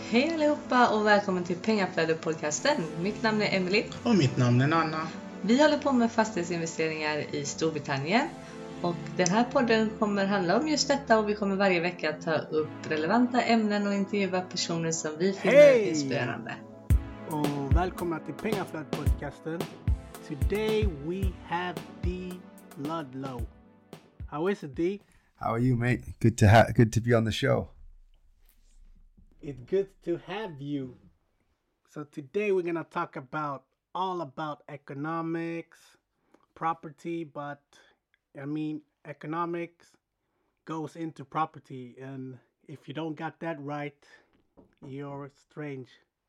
Hej allihopa och välkommen till Pengaflödet-podcasten. Mitt namn är Emily. Och mitt namn är Nanna. Vi håller på med fastighetsinvesteringar i Storbritannien. Och den här podden kommer handla om just detta och vi kommer varje vecka ta upp relevanta ämnen och intervjua personer som vi finner inspirerande. Och välkomna till Pengaflödet-podcasten. Today we have D. Ludlow. How is it, D? How are you, mate? Good to be on the show. It's good to have you. So today we're gonna talk all about economics, property, but I mean economics goes into property, and if you don't got that right, you're strange.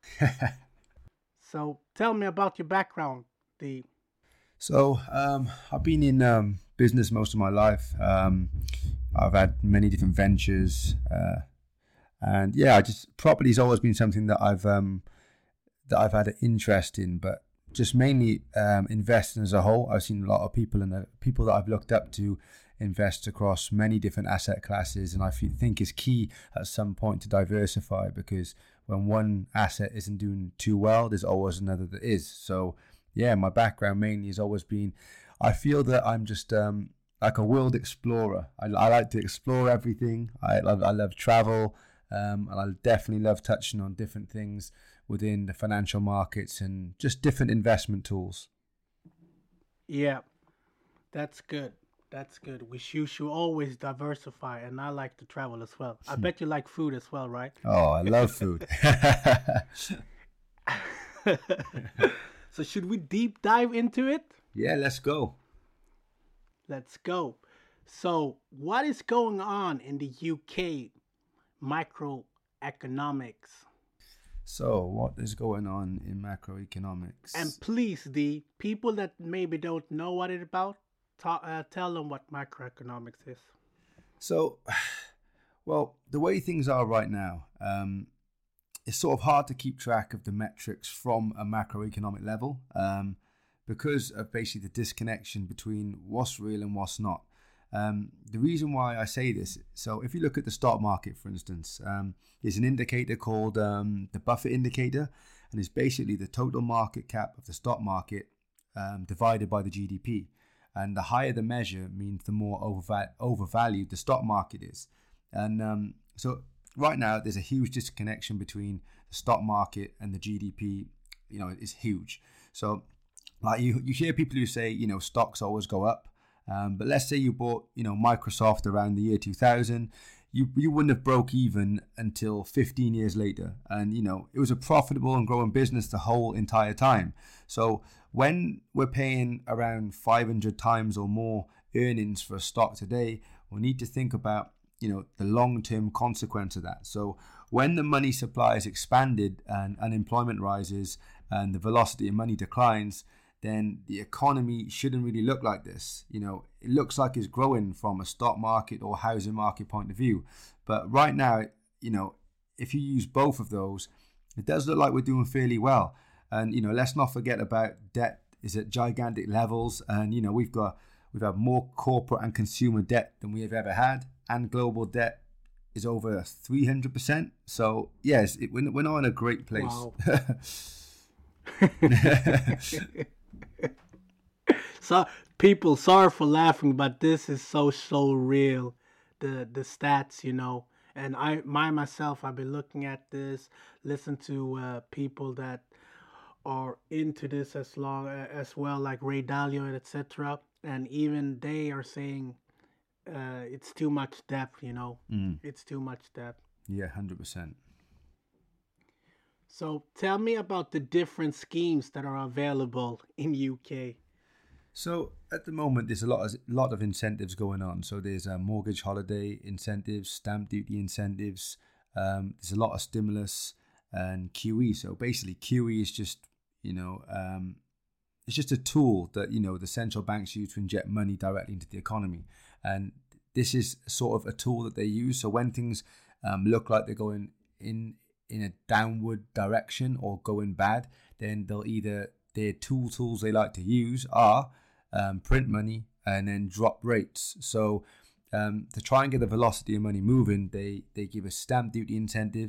So tell me about your background, D. So I've been in business most of my life. I've had many different ventures. And yeah, property's always been something that I've had an interest in, but just mainly investing as a whole. I've seen a lot of people and the people that I've looked up to invest across many different asset classes, and I think it's key at some point to diversify, because when one asset isn't doing too well, there's always another that is. So yeah, my background mainly has always been, I feel that I'm just like a world explorer. I like to explore everything. I love travel. And I definitely love touching on different things within the financial markets and just different investment tools. Yeah, that's good. That's good. You should always diversify, and I like to travel as well. I bet you like food as well, right? Oh, I love food. So should we deep dive into it? Yeah, let's go. Let's go. So what is going on in the UK microeconomics? So what is going on in macroeconomics? And please, the people that maybe don't know what it's about, tell them what macroeconomics is. So, well, the way things are right now, it's sort of hard to keep track of the metrics from a macroeconomic level, because of basically the disconnection between what's real and what's not. The reason why I say this, so if you look at the stock market, for instance, there's an indicator called the Buffett indicator, and it's basically the total market cap of the stock market divided by the GDP. And the higher the measure means the more overvalued the stock market is. And so right now there's a huge disconnection between the stock market and the GDP. You know, it's huge. So like you hear people who say, you know, stocks always go up. But let's say you bought, you know, Microsoft around the year 2000, you wouldn't have broke even until 15 years later. And, you know, it was a profitable and growing business the whole entire time. So when we're paying around 500 times or more earnings for a stock today, we need to think about, you know, the long-term consequence of that. So when the money supply is expanded and unemployment rises and the velocity of money declines, then the economy shouldn't really look like this. You know, it looks like it's growing from a stock market or housing market point of view. But right now, you know, if you use both of those, it does look like we're doing fairly well. And, you know, let's not forget about debt is at gigantic levels. And, you know, we've had more corporate and consumer debt than we have ever had. And global debt is over 300%. So, yes, we're not in a great place. Wow. So people, sorry for laughing, but this is so real. The stats, you know, and myself, I've been looking at this, listen to people that are into this as well, like Ray Dalio, etc. And even they are saying it's too much debt, you know. It's too much debt. Yeah, 100%. So tell me about the different schemes that are available in UK. So at the moment, there's a lot of incentives going on. So there's mortgage holiday incentives, stamp duty incentives. There's a lot of stimulus and QE. So basically, QE is just, you know, it's just a tool that, you know, the central banks use to inject money directly into the economy. And this is sort of a tool that they use. So when things look like they're going in a downward direction or going bad, then their tools they like to use are print money and then drop rates. So to try and get the velocity of money moving, they give us stamp duty incentives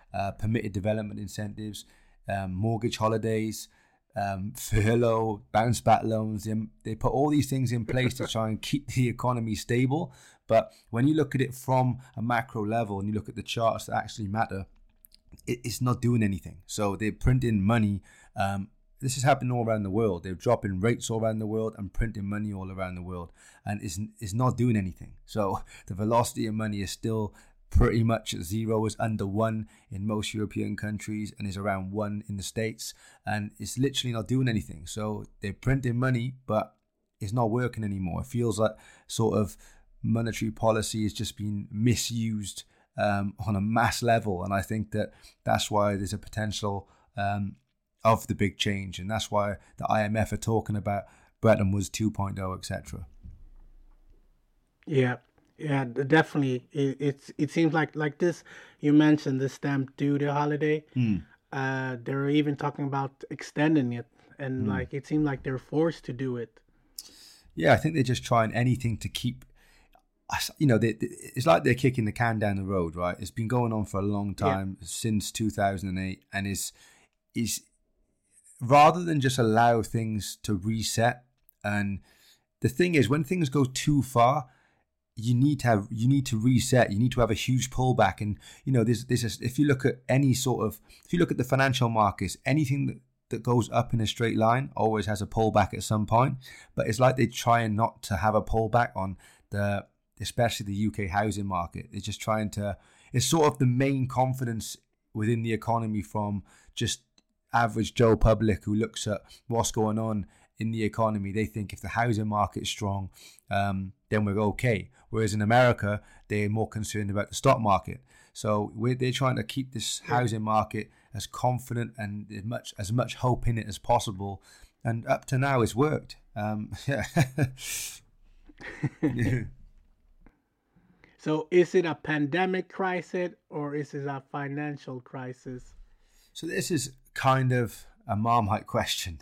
permitted development incentives, mortgage holidays, furlough, bounce back loans. They put all these things in place to try and keep the economy stable. But when you look at it from a macro level and you look at the charts that actually matter, it's not doing anything. So they're printing money. This is happening all around the world. They're dropping rates all around the world and printing money all around the world, and it's not doing anything. So the velocity of money is still pretty much at zero. Is under 1 in most European countries and is around 1 in the States, and it's literally not doing anything. So they're printing money, but it's not working anymore. It feels like sort of monetary policy is just being misused on a mass level, and I think that's why there's a potential of the big change, and that's why the IMF are talking about Bretton Woods 2.0, etc. Yeah, definitely. It seems like this. You mentioned the stamp duty holiday. They're even talking about extending it, and like it seemed like they're forced to do it. Yeah, I think they're just trying anything to keep. It's like they're kicking the can down the road, right? It's been going on for a long time, since 2008, and is rather than just allow things to reset. And the thing is, when things go too far, you need to reset. You need to have a huge pullback. And if you look at the financial markets, anything that goes up in a straight line always has a pullback at some point. But it's like they're trying not to have a pullback on especially the UK housing market. They're just trying to. It's sort of the main confidence within the economy from just average Joe public who looks at what's going on in the economy. They think if the housing market's strong, then we're okay. Whereas in America, they're more concerned about the stock market. So they're trying to keep this housing market as confident and as much hope in it as possible. And up to now, it's worked. So is it a pandemic crisis or is it a financial crisis? So this is kind of a Marmite question.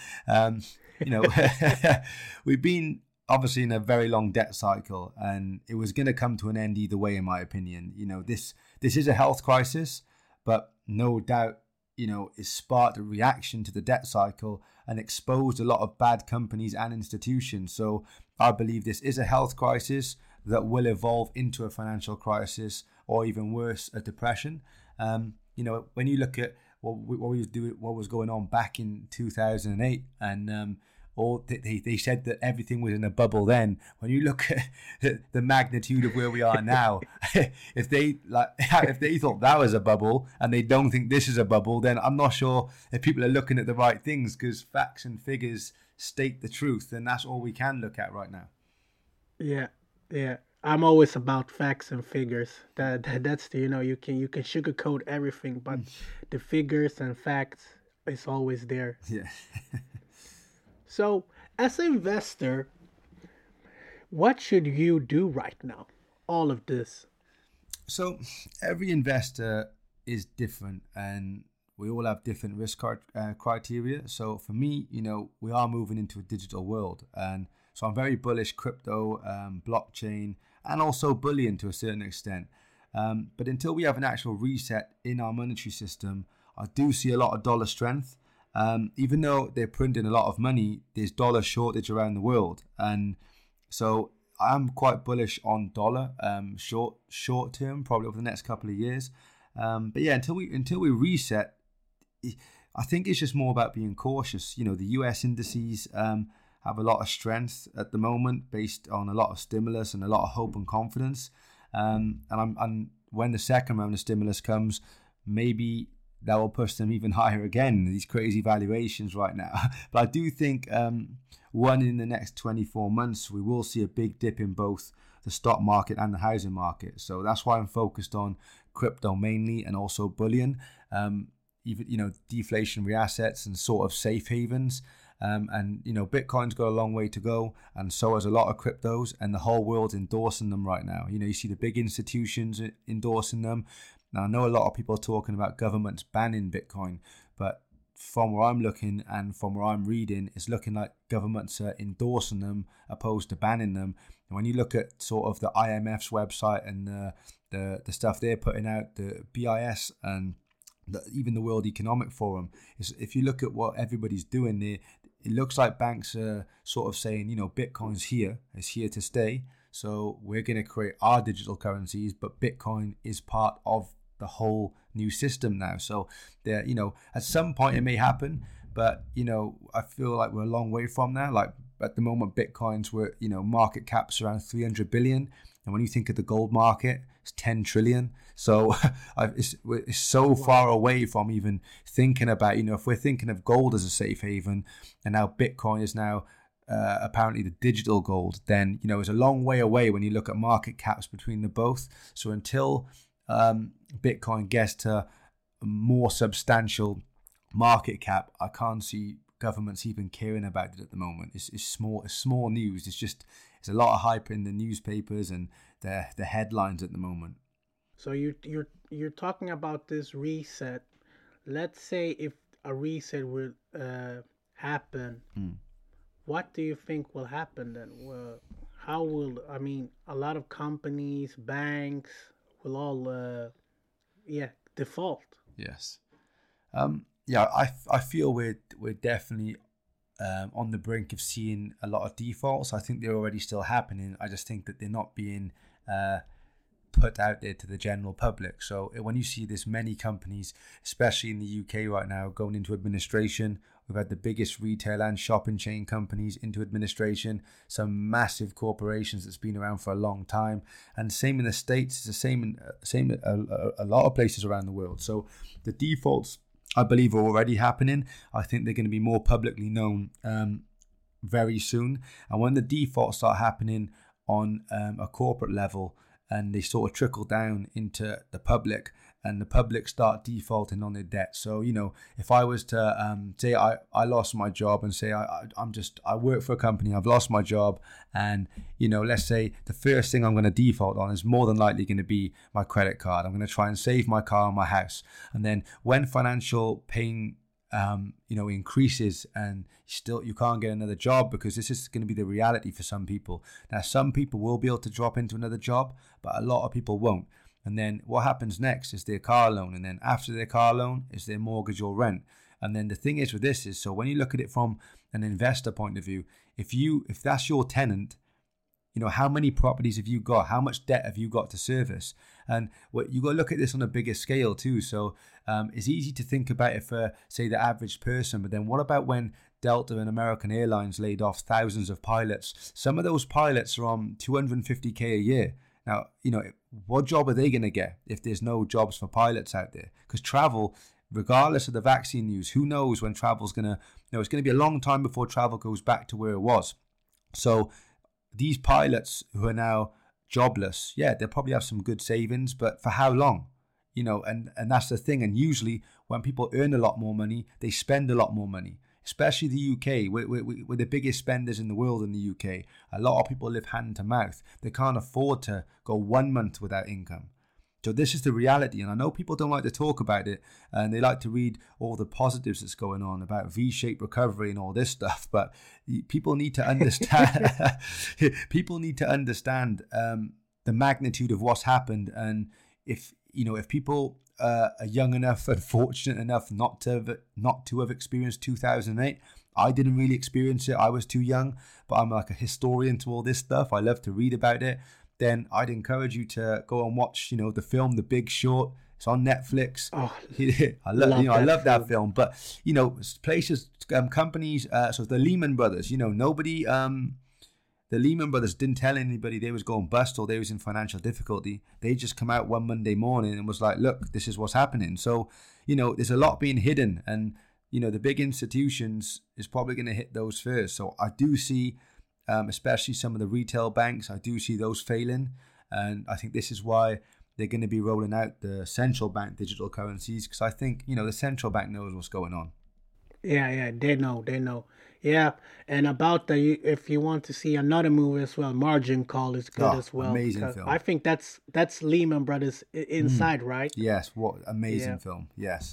We've been obviously in a very long debt cycle, and it was going to come to an end either way, in my opinion. This is a health crisis, but no doubt, it sparked a reaction to the debt cycle and exposed a lot of bad companies and institutions. So I believe this is a health crisis that will evolve into a financial crisis, or even worse, a depression. When you look at what was going on back in 2008, and they said that everything was in a bubble then. When you look at the magnitude of where we are now, if they thought that was a bubble and they don't think this is a bubble, then I'm not sure if people are looking at the right things, because facts and figures state the truth, and that's all we can look at right now. Yeah. I'm always about facts and figures. That's you can sugarcoat everything, but the figures and facts is always there. Yeah. So, as an investor, what should you do right now? All of this. So, every investor is different, and we all have different risk criteria. So, for me, we are moving into a digital world, and so I'm very bullish crypto, blockchain, and also bullion to a certain extent. But until we have an actual reset in our monetary system, I do see a lot of dollar strength. Even though they're printing a lot of money, there's dollar shortage around the world. And so I'm quite bullish on dollar short term, probably over the next couple of years. But yeah, until we reset, I think it's just more about being cautious. The US indices have a lot of strength at the moment based on a lot of stimulus and a lot of hope and confidence. And when the second round of stimulus comes, maybe that will push them even higher again, these crazy valuations right now. But I do think in the next 24 months, we will see a big dip in both the stock market and the housing market. So that's why I'm focused on crypto mainly, and also bullion, even, deflationary assets and sort of safe havens. And Bitcoin's got a long way to go, and so has a lot of cryptos, and the whole world's endorsing them right now. You see the big institutions endorsing them. Now, I know a lot of people are talking about governments banning Bitcoin, but from where I'm looking and from where I'm reading, it's looking like governments are endorsing them opposed to banning them. And when you look at sort of the IMF's website and the stuff they're putting out, the BIS and even the World Economic Forum, if you look at what everybody's doing there, it looks like banks are sort of saying, Bitcoin's here, it's here to stay. So we're going to create our digital currencies, but Bitcoin is part of the whole new system now. So there, at some point it may happen, but I feel like we're a long way from there. Like at the moment, Bitcoin's market cap's around 300 billion, and when you think of the gold market, it's 10 trillion. So it's so far away from even thinking about, if we're thinking of gold as a safe haven, and now Bitcoin is now apparently the digital gold, then it's a long way away when you look at market caps between the both. So until Bitcoin gets to a more substantial market cap, I can't see governments even caring about it at the moment. It's small news. It's a lot of hype in the newspapers and the headlines at the moment. So you're talking about this reset. Let's say if a reset will happen, what do you think will happen then? Well, a lot of companies, banks will all default. Yes. I feel we're definitely on the brink of seeing a lot of defaults. I think they're already still happening. I just think that they're not being put out there to the general public. So when you see this many companies, especially in the UK right now, going into administration, we've had the biggest retail and shopping chain companies into administration, some massive corporations that's been around for a long time, and same in the States. It's the same a lot of places around the world. So the defaults, I believe, are already happening. I think they're going to be more publicly known very soon. And when the defaults start happening on a corporate level, and they sort of trickle down into the public, and the public start defaulting on their debt. So, if I was to say I lost my job, and say I work for a company, I've lost my job, and, let's say the first thing I'm going to default on is more than likely going to be my credit card. I'm going to try and save my car and my house. And then when financial pain increases and you can't get another job, because this is going to be the reality for some people. Now, some people will be able to drop into another job, but a lot of people won't. And then what happens next is their car loan. And then after their car loan is their mortgage or rent. And then the thing is with this is, so when you look at it from an investor point of view, if that's your tenant, how many properties have you got? How much debt have you got to service? And you got to look at this on a bigger scale too. So it's easy to think about it for, say, the average person. But then what about when Delta and American Airlines laid off thousands of pilots? Some of those pilots are on $250K a year. Now, what job are they going to get if there's no jobs for pilots out there? Because travel, regardless of the vaccine news, who knows when travel's going to, it's going to be a long time before travel goes back to where it was. So these pilots who are now jobless, they'll probably have some good savings, but for how long? And that's the thing. And usually when people earn a lot more money, they spend a lot more money, especially the UK. We're the biggest spenders in the world in the UK. A lot of people live hand to mouth. They can't afford to go 1 month without income. So this is the reality. And I know people don't like to talk about it, and they like to read all the positives that's going on about V-shaped recovery and all this stuff. But people need to understand, the magnitude of what's happened. And if people are young enough and fortunate enough not to have experienced 2008, I didn't really experience it. I was too young, but I'm like a historian to all this stuff. I love to read about it. Then I'd encourage you to go and watch, the film The Big Short. It's on Netflix. Oh, I love that film. But places, companies. So the Lehman Brothers. Nobody. The Lehman Brothers didn't tell anybody they was going bust or they was in financial difficulty. They just come out one Monday morning and was like, "Look, this is what's happening." So there's a lot being hidden, and the big institutions is probably going to hit those first. So I do see. Especially some of the retail banks, I do see those failing. And I think this is why they're going to be rolling out the central bank digital currencies, because I think, the central bank knows what's going on. Yeah, they know. Yeah, and about if you want to see another movie as well, Margin Call is good as well. Amazing film. I think that's Lehman Brothers inside, right? Yes, what amazing film. Yes.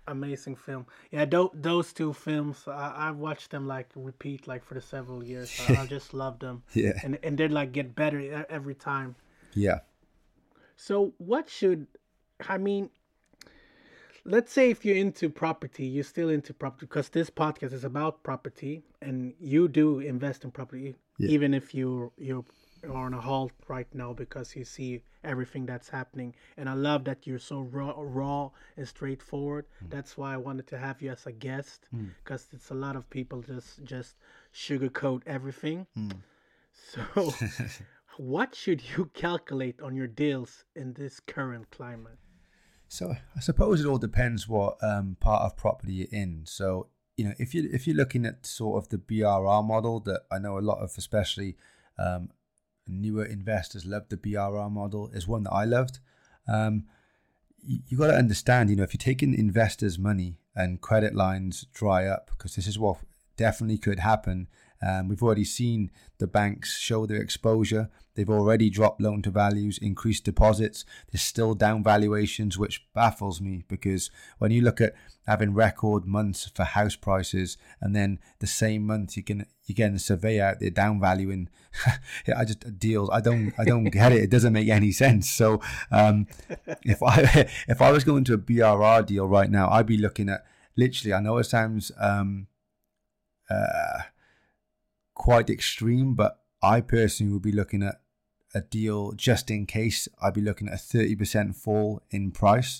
amazing film. Yeah, those two films, I've watched them like repeat like for the several years. I just love them. Yeah. And they like get better every time. Yeah. So what should, I mean, let's say if you're into property, you're still into property because this podcast is about property and you do invest in property, even if you're on a halt right now because you see everything that's happening. And I love that you're so raw and straightforward. That's why I wanted to have you as a guest because it's a lot of people just sugarcoat everything. So what should you calculate on your deals in this current climate? So I suppose it all depends what part of property you're in. So, you know, if you're looking at sort of the BRR model that I know a lot of, especially newer investors love, the BRR model is one that I loved. You got to understand, you know, if you're taking investors' money and credit lines dry up, because this is what definitely could happen. We've already seen the banks show their exposure. They've already dropped loan to values, increased deposits. There's still down valuations, which baffles me because when you look at having record months for house prices and then the same month you're getting a surveyor out there down valuing deals. I don't get it. It doesn't make any sense. So if I was going to a BRR deal right now, I'd be looking at literally, I know it sounds quite extreme, but I personally would be looking at a deal just in case. I'd be looking at a 30% fall in price.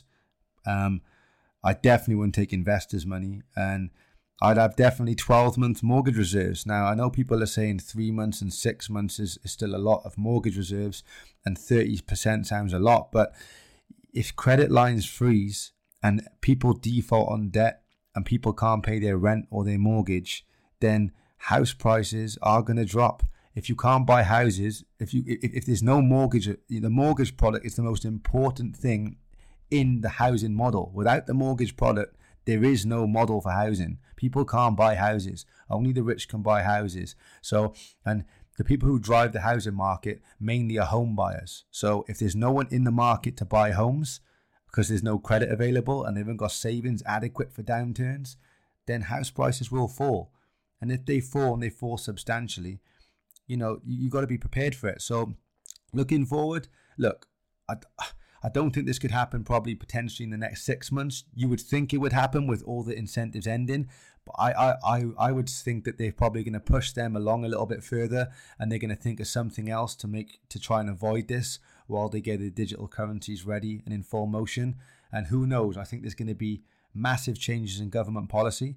I definitely wouldn't take investors' money, and I'd have definitely 12-month mortgage reserves. Now, I know people are saying 3 months and 6 months is still a lot of mortgage reserves, and 30% sounds a lot, but if credit lines freeze and people default on debt and people can't pay their rent or their mortgage, then house prices are going to drop. If you can't buy houses, if there's no mortgage, the mortgage product is the most important thing in the housing model. Without the mortgage product, there is no model for housing. People can't buy houses. Only the rich can buy houses. So, and the people who drive the housing market mainly are home buyers. So if there's no one in the market to buy homes because there's no credit available and they haven't got savings adequate for downturns, then house prices will fall. And if they fall and they fall substantially, you know, you got to be prepared for it. So looking forward, look, I don't think this could happen probably potentially in the next 6 months. You would think it would happen with all the incentives ending. But I would think that they're probably going to push them along a little bit further and they're going to think of something else to try and avoid this while they get the digital currencies ready and in full motion. And who knows? I think there's going to be massive changes in government policy.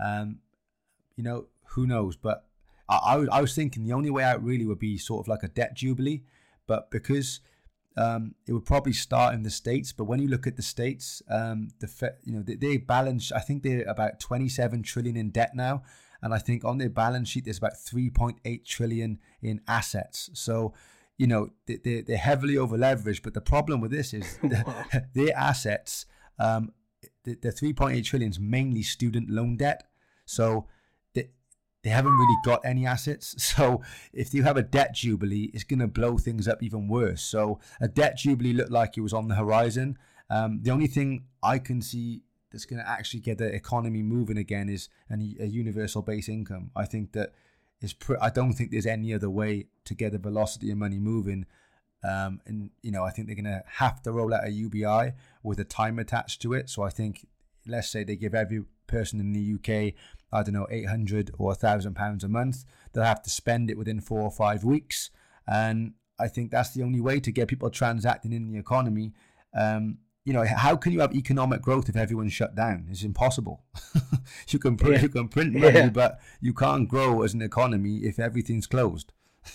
You know, who knows? But I was thinking the only way out really would be sort of like a debt jubilee. But because it would probably start in the States, but when you look at the States, they balance. I think they're about 27 trillion in debt now, and I think on their balance sheet there's about 3.8 trillion in assets. So, you know, they're heavily over leveraged. But the problem with this is their assets, the 3.8 trillion is mainly student loan debt. So they haven't really got any assets. So if you have a debt jubilee, it's going to blow things up even worse. So a debt jubilee looked like it was on the horizon. The only thing I can see that's going to actually get the economy moving again is a universal base income. I think that I don't think there's any other way to get the velocity of money moving. And, you know, I think they're going to have to roll out a UBI with a time attached to it. So I think, let's say they give every person in the UK, I don't know, £800 or £1,000 a month. They'll have to spend it within 4 or 5 weeks. And I think that's the only way to get people transacting in the economy. You know, how can you have economic growth if everyone's shut down? It's impossible. You can print money, but you can't grow as an economy if everything's closed.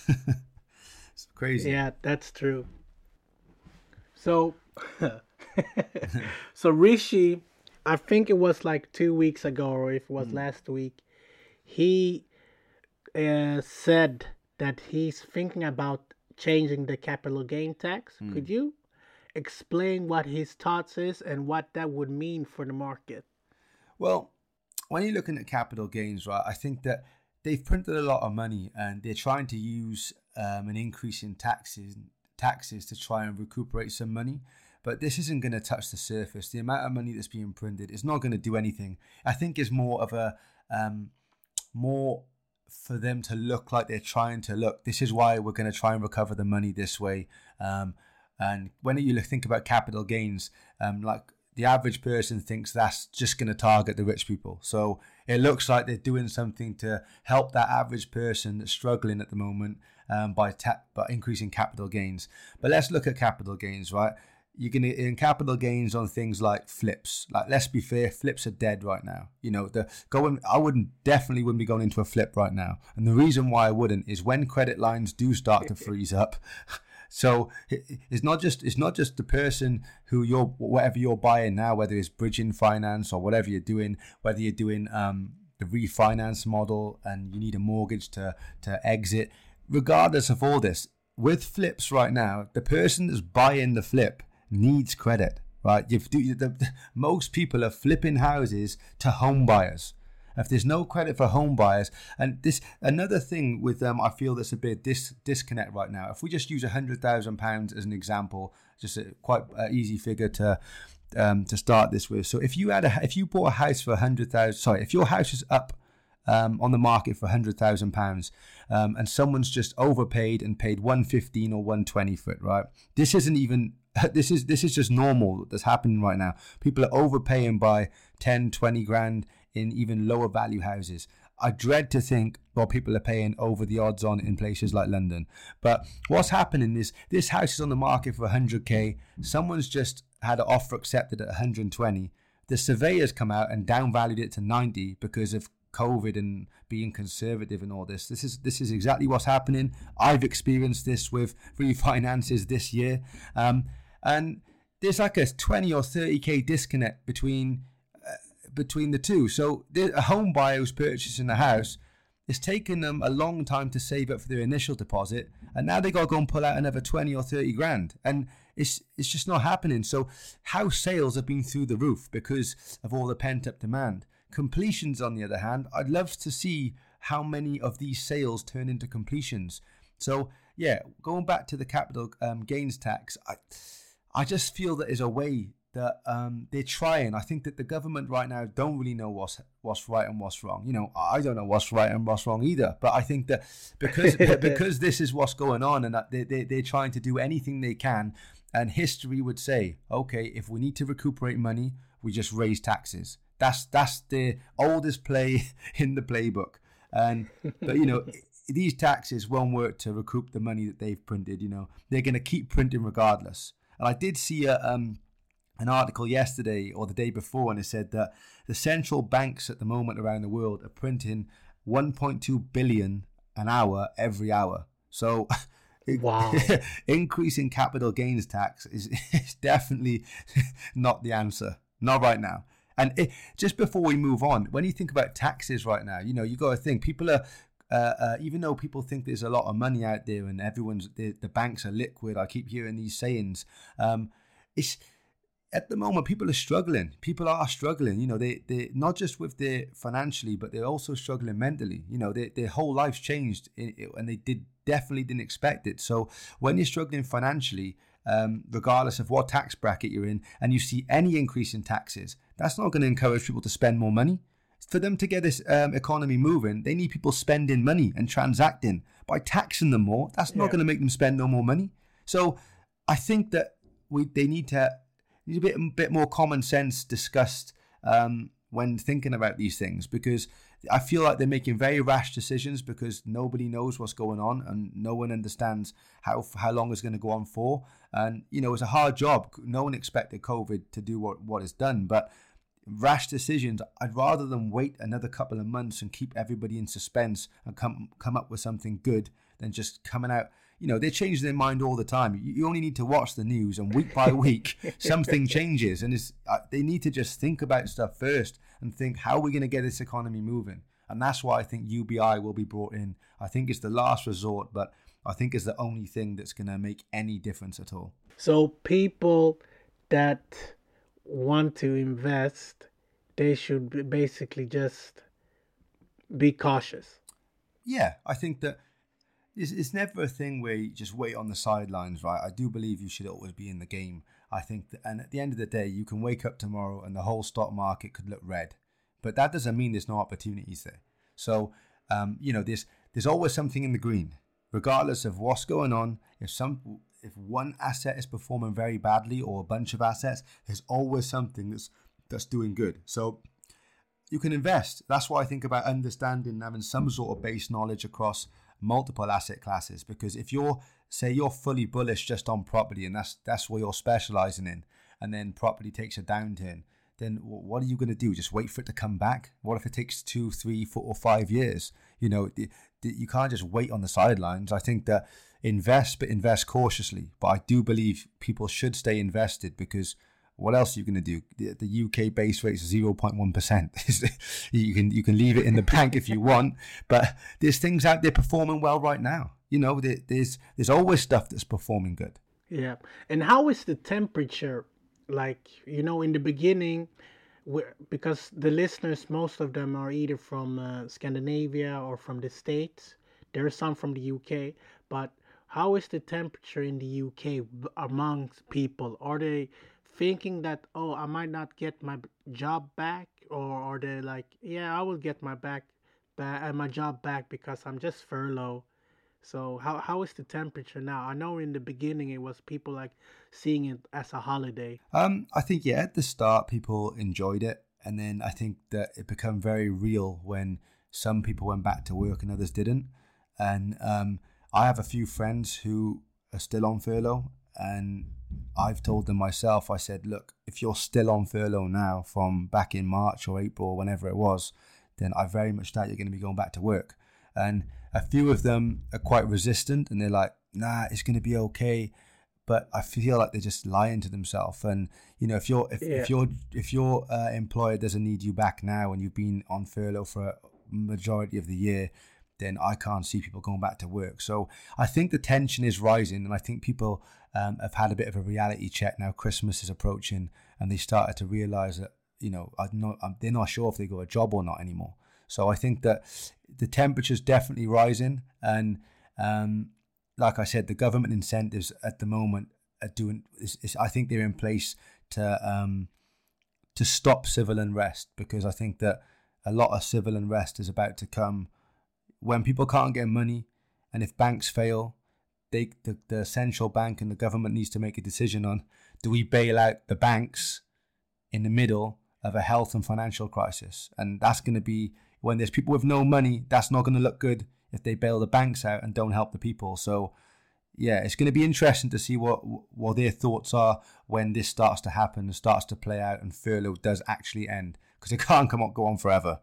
It's crazy. Yeah, that's true. So, so Rishi, I think it was like 2 weeks ago, or if it was last week, he said that he's thinking about changing the capital gain tax. Could you explain what his thoughts is and what that would mean for the market? Well, when you're looking at capital gains, right, I think that they've printed a lot of money and they're trying to use an increase in taxes to try and recuperate some money. but this isn't going to touch the surface. The amount of money that's being printed is not going to do anything. I think it's more of a more for them to look like they're trying to look. This is why we're going to try and recover the money this way. And when you think about capital gains, like the average person thinks that's just going to target the rich people. So it looks like they're doing something to help that average person that's struggling at the moment by increasing capital gains. But let's look at capital gains, right? You're going to earn capital gains on things like flips. Like, let's be fair, flips are dead right now. You know, I definitely wouldn't be going into a flip right now. And the reason why I wouldn't is when credit lines do start to freeze up. So it's not just the person who whatever you're buying now, whether it's bridging finance or whatever you're doing, whether you're doing the refinance model and you need a mortgage to exit. Regardless of all this, with flips right now, the person that's buying the flip needs credit, right? Most people are flipping houses to home buyers. If there's no credit for home buyers, and this another thing with I feel there's a bit disconnect right now. If we just use £100,000 as an example, just a quite easy figure to start this with. So if you bought a house for if your house is up on the market for £100,000, and someone's just overpaid and paid 115 or 120 for it, right? This isn't even. This is just normal that's happening right now. People are overpaying by 10, 20 grand in even lower value houses. I dread to think what people are paying over the odds on in places like London. But what's happening is this house is on the market for 100k. Someone's just had an offer accepted at 120. The surveyors come out and downvalued it to 90 because of COVID and being conservative and all this. This is exactly what's happening. I've experienced this with refinances this year. And there's like a 20 or 30k disconnect between the two. So a home buyer who's purchasing a house, it's taken them a long time to save up for their initial deposit, and now they got to go and pull out another 20 or 30 grand, and it's just not happening. So house sales have been through the roof because of all the pent up demand. Completions, on the other hand, I'd love to see how many of these sales turn into completions. So yeah, going back to the capital gains tax, I just feel that there's a way that they're trying. I think that the government right now don't really know what's right and what's wrong. You know, I don't know what's right and what's wrong either. But I think that because this is what's going on, and that they're trying to do anything they can. And history would say, okay, if we need to recuperate money, we just raise taxes. That's the oldest play in the playbook. But you know, these taxes won't work to recoup the money that they've printed. You know, they're going to keep printing regardless. And I did see an article yesterday or the day before, and it said that the central banks at the moment around the world are printing 1.2 billion an hour every hour. So wow. Increasing capital gains tax is definitely not the answer. Not right now. And just before we move on, when you think about taxes right now, you know, you got to think people are, even though people think there's a lot of money out there and the banks are liquid, I keep hearing these sayings. It's at the moment people are struggling. People are struggling. You know, they not just with their financially, but they're also struggling mentally. You know, their whole life's changed, and they definitely didn't expect it. So when you're struggling financially, regardless of what tax bracket you're in, and you see any increase in taxes, that's not going to encourage people to spend more money. For them to get this economy moving, they need people spending money and transacting. By taxing them more, that's not going to make them spend no more money. So I think that they need a bit more common sense discussed when thinking about these things, because I feel like they're making very rash decisions because nobody knows what's going on and no one understands how long it's going to go on for. And, you know, it's a hard job. No one expected COVID to do what it's done, but rash decisions, I'd rather than wait another couple of months and keep everybody in suspense and come up with something good than just coming out. You know, they change their mind all the time. You only need to watch the news, and week by week, something changes. And they need to just think about stuff first and think, how are we going to get this economy moving? And that's why I think UBI will be brought in. I think it's the last resort, but I think it's the only thing that's going to make any difference at all. So people that want to invest, they should basically just be cautious. Yeah, I think that it's never a thing where you just wait on the sidelines, right? I do believe you should always be in the game. I think, and at the end of the day, you can wake up tomorrow and the whole stock market could look red, but that doesn't mean there's no opportunities there. So, there's always something in the green, regardless of what's going on. If one asset is performing very badly or a bunch of assets, there's always something that's doing good. So you can invest. That's what I think about understanding, having some sort of base knowledge across multiple asset classes. Because if you're fully bullish just on property and that's what you're specializing in, and then property takes a downturn, then what are you going to do? Just wait for it to come back? What if it takes 2, 3, 4, or 5 years? You can't just wait on the sidelines. I think that invest, but invest cautiously. But I do believe people should stay invested, because what else are you going to do? The UK base rate is 0.1%. You can leave it in the bank if you want, but there's things out there performing well right now. There's always stuff that's performing good. Yeah. And how is the temperature? Like, in the beginning, because the listeners, most of them are either from Scandinavia or from the States. There are some from the UK, but how is the temperature in the UK amongst people? Are they thinking that, oh, I might not get my job back, or are they like, yeah, I will get my job back because I'm just furloughed? So how is the temperature now? I know in the beginning it was people like seeing it as a holiday. I think, at the start people enjoyed it, and then I think that it became very real when some people went back to work and others didn't. And I have a few friends who are still on furlough, and I've told them myself, I said, look, if you're still on furlough now from back in March or April or whenever it was, then I very much doubt you're going to be going back to work. And a few of them are quite resistant, and they're like, nah, it's going to be okay. But I feel like they're just lying to themselves. And if your employer doesn't need you back now and you've been on furlough for a majority of the year, then I can't see people going back to work. So I think the tension is rising, and I think people have had a bit of a reality check now. Christmas is approaching, and they started to realize that they're not sure if they got a job or not anymore. So I think that the temperature's definitely rising, and like I said, the government incentives at the moment are doing. I think they're in place to stop civil unrest, because I think that a lot of civil unrest is about to come when people can't get money, and if banks fail, the central bank and the government needs to make a decision on, do we bail out the banks in the middle of a health and financial crisis? And that's going to be, when there's people with no money, that's not going to look good if they bail the banks out and don't help the people. So it's going to be interesting to see what their thoughts are when this starts to happen and starts to play out and furlough does actually end, because it can't go on forever.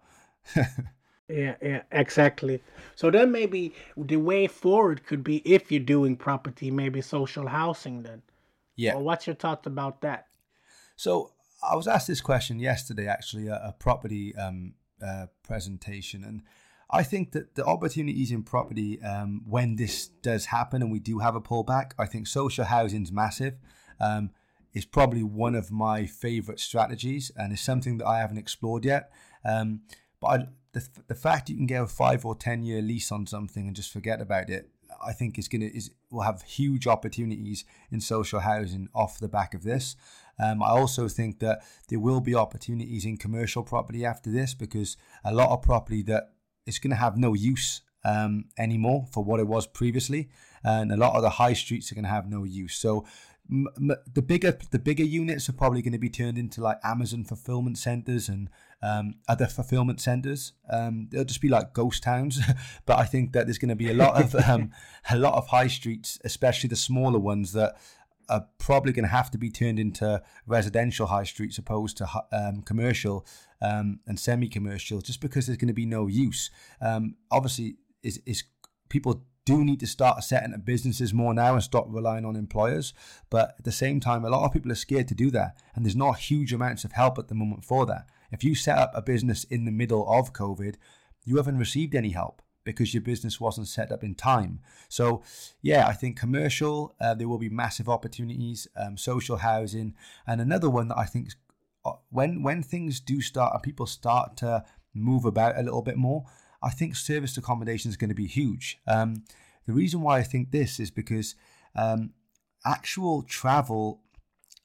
Yeah, exactly. So then maybe the way forward could be, if you're doing property, maybe social housing then. Yeah. Well, what's your thoughts about that? So I was asked this question yesterday, actually, a property presentation, and I think that the opportunities in property, when this does happen and we do have a pullback, I think social housing is massive. It's probably one of my favorite strategies, and it's something that I haven't explored yet. But the fact you can get a 5 or 10 year lease on something and just forget about it, I think will have huge opportunities in social housing off the back of this. I also think that there will be opportunities in commercial property after this, because a lot of property that is going to have no use anymore for what it was previously, and a lot of the high streets are going to have no use. So the bigger units are probably going to be turned into like Amazon fulfillment centers and other fulfillment centers. They'll just be like ghost towns. But I think that there's going to be a lot of high streets, especially the smaller ones, that are probably going to have to be turned into residential high streets opposed to commercial and semi-commercial, just because there's going to be no use. Obviously, is people do need to start setting up businesses more now and stop relying on employers. But at the same time, a lot of people are scared to do that, and there's not huge amounts of help at the moment for that. If you set up a business in the middle of COVID, you haven't received any help because your business wasn't set up in time. So I think commercial, there will be massive opportunities, social housing, and another one that I think when things do start and people start to move about a little bit more, I think serviced accommodation is going to be huge. The reason why I think this is because actual travel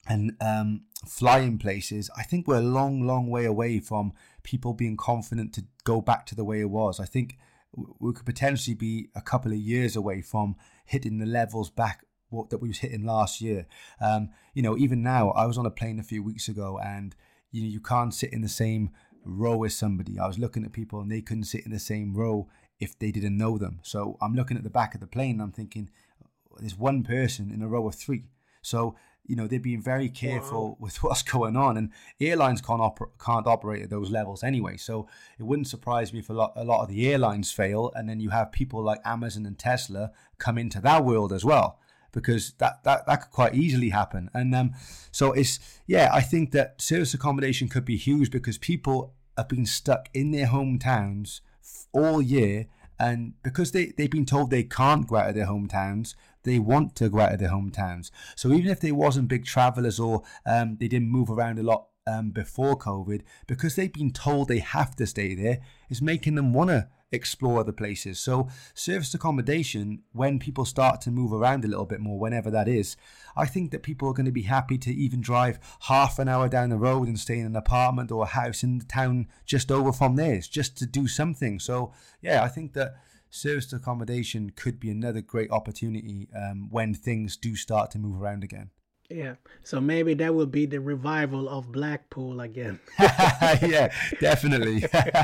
and flying places, I think we're a long way away from people being confident to go back to the way it was. I think we could potentially be a couple of years away from hitting the levels back that we was hitting last year. Even now, I was on a plane a few weeks ago, and you can't sit in the same row as somebody. I was looking at people and they couldn't sit in the same row if they didn't know them. So I'm looking at the back of the plane and I'm thinking, there's one person in a row of three. So they're being very careful with what's going on, and airlines can't operate at those levels anyway. So it wouldn't surprise me if a lot of the airlines fail, and then you have people like Amazon and Tesla come into that world as well, because that could quite easily happen. And I think that service accommodation could be huge because people have been stuck in their hometowns all year, and because they've been told they can't go out of their hometowns, they want to go out of their hometowns. So even if they wasn't big travelers or they didn't move around a lot before COVID, because they've been told they have to stay there, is making them want to explore other places. So service accommodation, when people start to move around a little bit more, whenever that is, I think that people are going to be happy to even drive half an hour down the road and stay in an apartment or a house in the town just over from theirs, just to do something. So I think that service accommodation could be another great opportunity when things do start to move around again. Yeah, so maybe that will be the revival of Blackpool again. Yeah, definitely.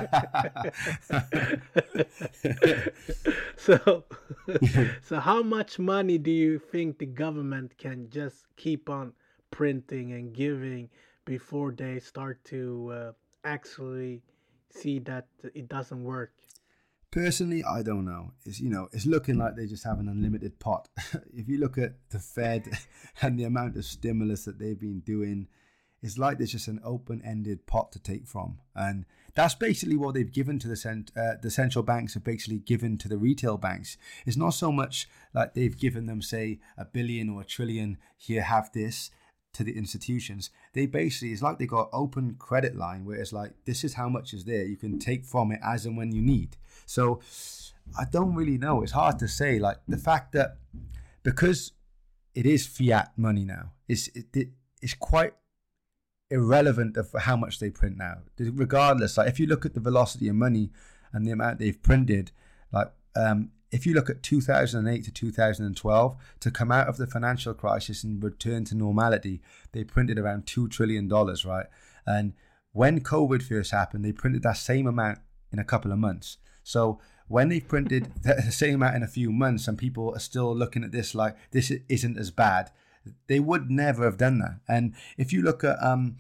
So how much money do you think the government can just keep on printing and giving before they start to actually see that it doesn't work? Personally, I don't know. It's looking like they just have an unlimited pot. If you look at the Fed and the amount of stimulus that they've been doing, it's like there's just an open-ended pot to take from. And that's basically what they've given to the central banks have basically given to the retail banks. It's not so much like they've given them, say, $1 billion or $1 trillion, here, have this, to the institutions. They basically, it's like they got open credit line where it's like, this is how much is there. You can take from it as and when you need. So I don't really know. It's hard to say. Like the fact that because it is fiat money now, it's quite irrelevant of how much they print now. Regardless, like if you look at the velocity of money and the amount they've printed, like if you look at 2008 to 2012, to come out of the financial crisis and return to normality, they printed around $2 trillion, right? And when COVID first happened, they printed that same amount in a couple of months. So when they've printed the same amount in a few months and people are still looking at this like this isn't as bad, they would never have done that. And if you look at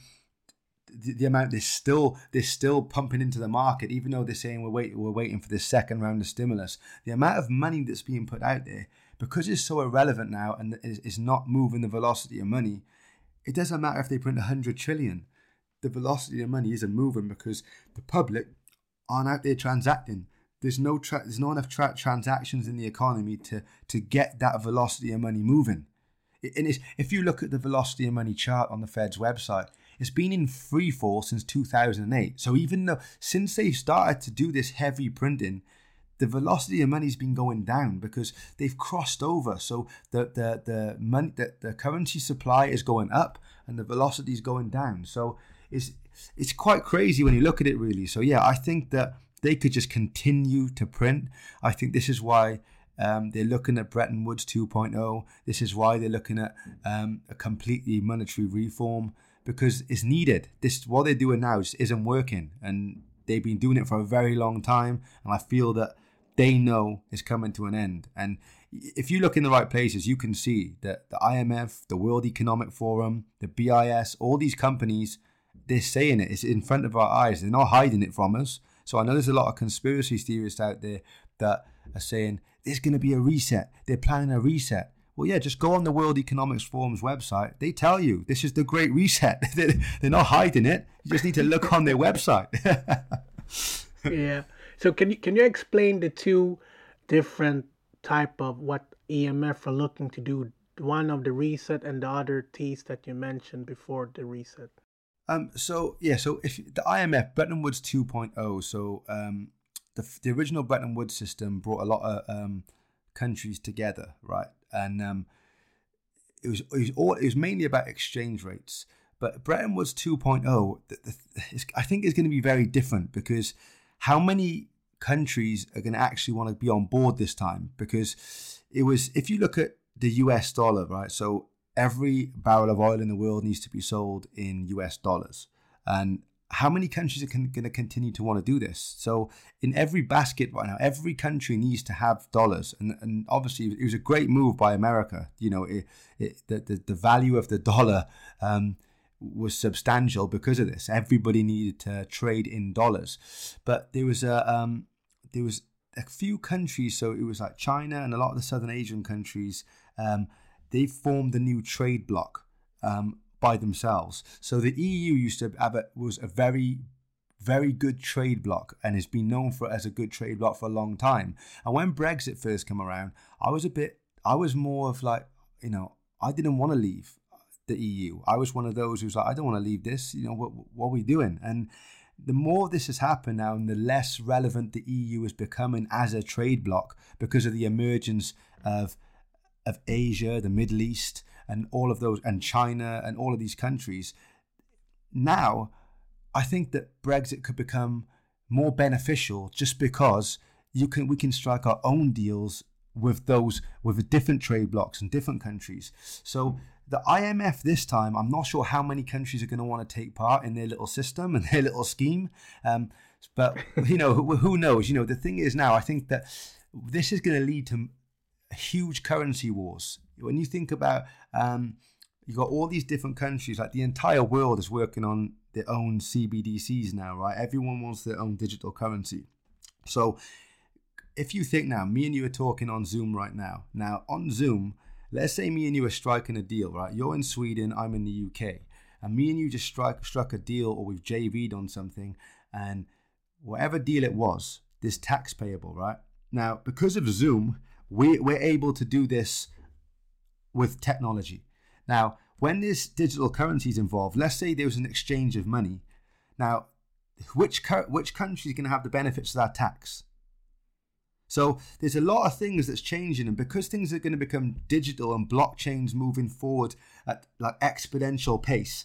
the amount they're still pumping into the market, even though they're saying we're waiting for this second round of stimulus, the amount of money that's being put out there, because it's so irrelevant now and is not moving the velocity of money, it doesn't matter if they print 100 trillion. The velocity of money isn't moving because the public aren't out there transacting. There's not enough transactions in the economy to get that velocity of money moving. And if you look at the velocity of money chart on the Fed's website, it's been in free fall since 2008. So even though since they started to do this heavy printing, the velocity of money's been going down because they've crossed over. So the money, the currency supply is going up and the velocity is going down. So it's quite crazy when you look at it, really. So yeah, I think that they could just continue to print. I think this is why they're looking at Bretton Woods 2.0. This is why they're looking at a completely monetary reform, because it's needed. What they're doing now just isn't working, and they've been doing it for a very long time, and I feel that they know it's coming to an end. And if you look in the right places, you can see that the IMF, the World Economic Forum, the BIS, all these companies, they're saying it. It's in front of our eyes. They're not hiding it from us. So I know there's a lot of conspiracy theorists out there that are saying there's going to be a reset. They're planning a reset. Well, yeah, just go on the World Economic Forum's website. They tell you this is the Great Reset. They're not hiding it. You just need to look on their website. Yeah. So can you explain the two different type of what IMF are looking to do? One of the reset and the other T's that you mentioned before the reset. So if the IMF, Bretton Woods 2.0, so the original Bretton Woods system brought a lot of countries together, right? And it was mainly about exchange rates. But Bretton Woods 2.0, I think is going to be very different, because how many countries are going to actually want to be on board this time? Because if you look at the US dollar, right? So every barrel of oil in the world needs to be sold in US dollars. And how many countries are going to continue to want to do this? So in every basket right now, every country needs to have dollars. And obviously it was a great move by America. You know, the value of the dollar was substantial because of this. Everybody needed to trade in dollars. But there was a few countries, so it was like China and a lot of the Southern Asian countries, they formed a new trade bloc by themselves. So the EU was a very, very good trade bloc, and has been known as a good trade bloc for a long time. And when Brexit first came around, I was more of like, you know, I didn't want to leave the EU. I was one of those who's like, I don't want to leave this. You know, what are we doing? And the more this has happened now, and the less relevant the EU is becoming as a trade bloc, because of the emergence of Asia, the Middle East, and all of those, and China, and all of these countries. Now, I think that Brexit could become more beneficial, just because we can strike our own deals with different trade blocs and different countries. So the IMF this time, I'm not sure how many countries are going to want to take part in their little system and their little scheme. But, you know, who knows? You know, the thing is now, I think that this is going to lead to huge currency wars. When you think about, you've got all these different countries, like the entire world is working on their own CBDCs now, right? Everyone wants their own digital currency. So if you think now, me and you are talking on Zoom right now. Now on Zoom, let's say me and you are striking a deal, right? You're in Sweden, I'm in the UK. And me and you just struck a deal, or we've JV'd on something, and whatever deal it was, there's tax payable, right? Now, because of Zoom, we're able to do this with technology. Now, when there's digital currencies involved, let's say there was an exchange of money. Now, which country is going to have the benefits of that tax? So there's a lot of things that's changing, and because things are going to become digital and blockchains moving forward at like exponential pace,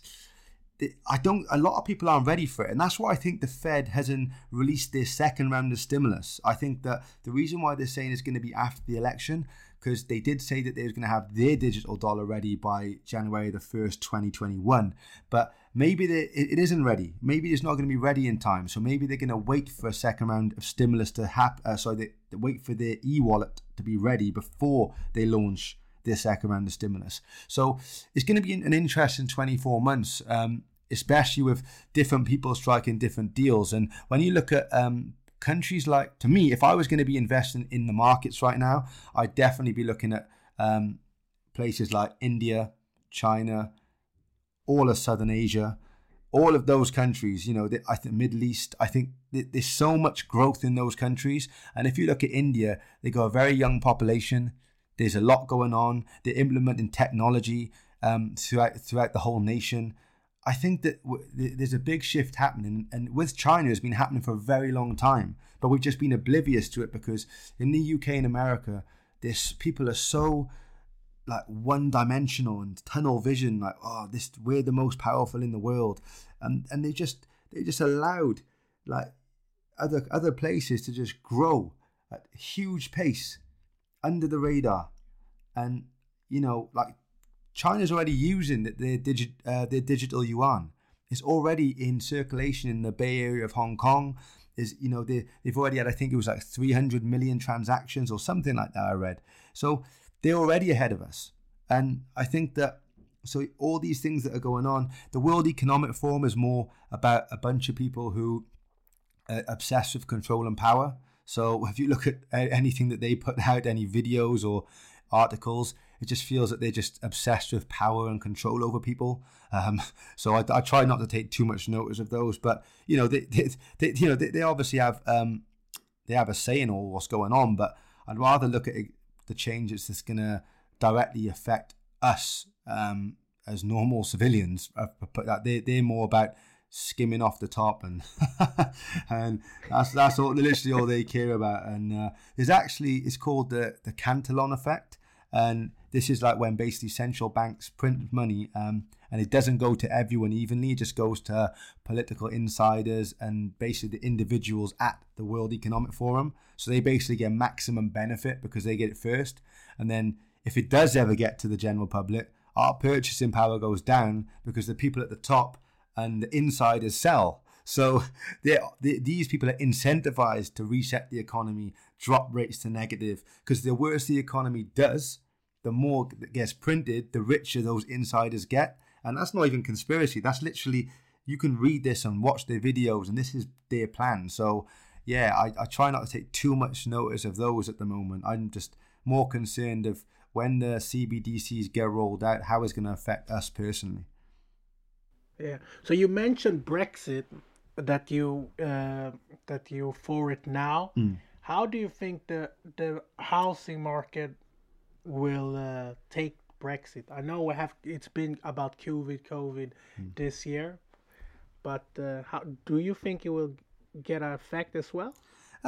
a lot of people aren't ready for it. And that's why I think the Fed hasn't released their second round of stimulus. I think that the reason why they're saying it's going to be after the election, because they did say that they were going to have their digital dollar ready by January the 1st, 2021. But maybe it isn't ready. Maybe it's not going to be ready in time. So maybe they're going to wait for a second round of stimulus to happen. They wait for their e-wallet to be ready before they launch their second round of stimulus. So it's going to be an interesting 24 months, especially with different people striking different deals. And when you look at countries like, to me, if I was going to be investing in the markets right now, I'd definitely be looking at places like India, China, all of Southern Asia, all of those countries, you know, I think Middle East, I think there's so much growth in those countries. And if you look at India, they got a very young population. There's a lot going on. They're implementing technology throughout the whole nation. I think that there's a big shift happening, and with China, it's been happening for a very long time, but we've just been oblivious to it, because in the UK and America, people are so like one-dimensional and tunnel vision, like, we're the most powerful in the world, and they just allowed like other places to just grow at a huge pace under the radar. And you know, like China's already using their digital yuan. It's already in circulation in the Bay Area of Hong Kong. They've already had, I think it was like 300 million transactions or something like that, I read. So they're already ahead of us. And I think that, so all these things that are going on, the World Economic Forum is more about a bunch of people who are obsessed with control and power. So if you look at anything that they put out, any videos or articles, it just feels that they're just obsessed with power and control over people. So I try not to take too much notice of those, but you know, they obviously have a say in all what's going on. But I'd rather look at the changes that's going to directly affect us as normal civilians. They're more about skimming off the top, and and that's literally all they care about. And it's called the Cantillon effect. And this is like when basically central banks print money, and it doesn't go to everyone evenly. It just goes to political insiders and basically the individuals at the World Economic Forum. So they basically get maximum benefit because they get it first. And then if it does ever get to the general public, our purchasing power goes down because the people at the top and the insiders sell. So these people are incentivized to reset the economy, drop rates to negative, because the worse the economy does, the more that gets printed, the richer those insiders get. And that's not even conspiracy. That's literally, you can read this and watch their videos, and this is their plan. So yeah, I try not to take too much notice of those at the moment. I'm just more concerned of when the CBDCs get rolled out, how it's going to affect us personally. Yeah. So you mentioned Brexit, that you for it now. How do you think the housing market will take Brexit? I know it's been about COVID this year, but how do you think it will get an effect as well?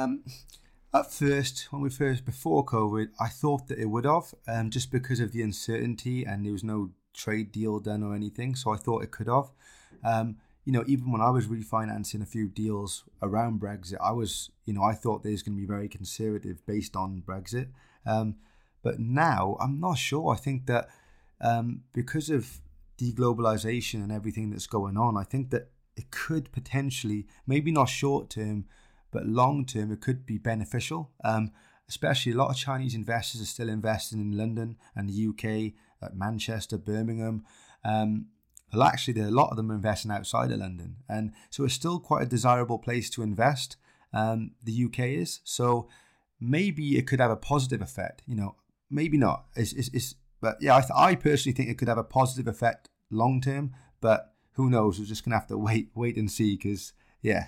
At first, before COVID, I thought that it would have, just because of the uncertainty and there was no trade deal done or anything. So I thought it could have. Even when I was refinancing a few deals around Brexit, I thought there's going to be very conservative based on Brexit. But now I'm not sure. I think that because of deglobalization and everything that's going on, I think that it could potentially, maybe not short term, but long term, it could be beneficial. Especially a lot of Chinese investors are still investing in London and the UK, Manchester, Birmingham. Well, actually, a lot of them are investing outside of London. And so it's still quite a desirable place to invest. The UK is. So maybe it could have a positive effect. Maybe not. But yeah, I personally think it could have a positive effect long term. But who knows? We're just going to have to wait and see because, yeah.